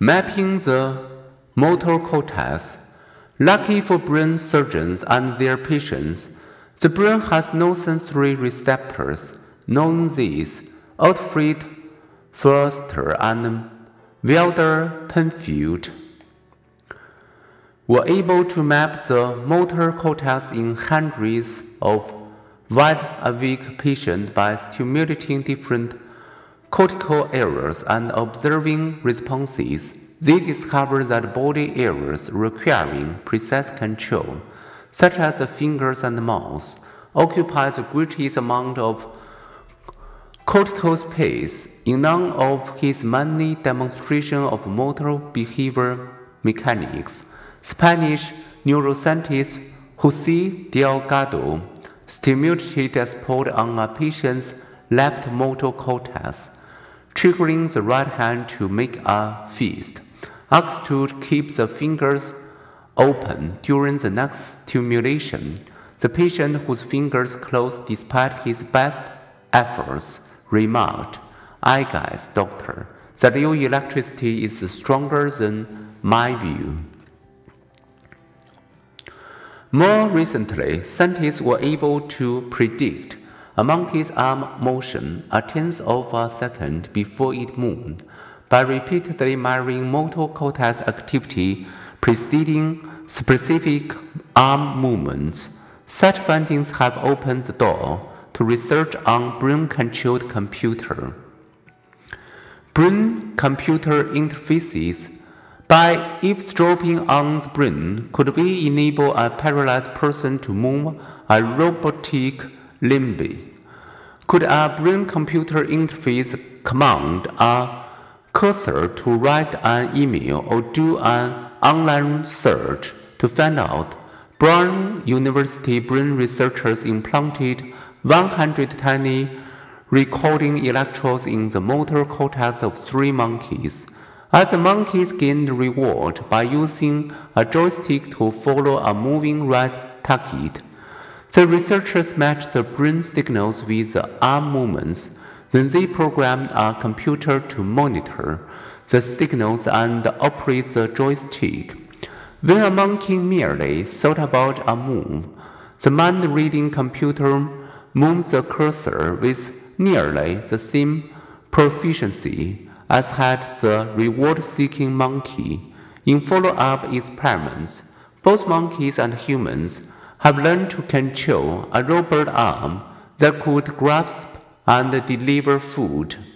mapping the motor cortex. Lucky for brain surgeons and their patients, the brain has no sensory receptors. Knowing this, Ottfried Förster and Wilder Penfield were able to map the motor cortex in hundreds of wide-awake patients by stimulating different cortical areas and observing responses. They discovered that body areas requiring precise control, such as the fingers and the mouth, occupy the greatest amount of cortical space. In none of his many demonstrations of motor behavior mechanics, Spanish neuroscientist Jose Delgado stimulated a spot on a patient's left motor cortex, triggering the right hand to make a fist. Asked to keep the fingers open during the next stimulation, the patient, whose fingers closed despite his best efforts, remarked, "I guess, doctor, that your electricity is stronger than my view." More recently, scientists were able to predict a monkey's arm motion a tenth of a second before it moved by repeatedly measuring motor cortex activity preceding specific arm movements. Such findings have opened the door to research on brain-controlled computer. Brain-computer interfaces. By eavesdropping on the brain, could we enable a paralyzed person to move a robotic limb? Could a brain-computer interface command a cursor to write an email or do an online search to find out? Brown University brain researchers implanted 100 tiny recording electrodes in the motor cortex of 3 monkeys. As the monkeys gained reward by using a joystick to follow a moving red target, the researchers matched the brain signals with the arm movements. Then they programmed a computer to monitor the signals and operate the joystick. When a monkey merely thought about a move, the mind-reading computer moved the cursor with nearly the same proficiency as had the reward-seeking monkey. In follow-up experiments, both monkeys and humans have learned to control a robot arm that could grasp and deliver food.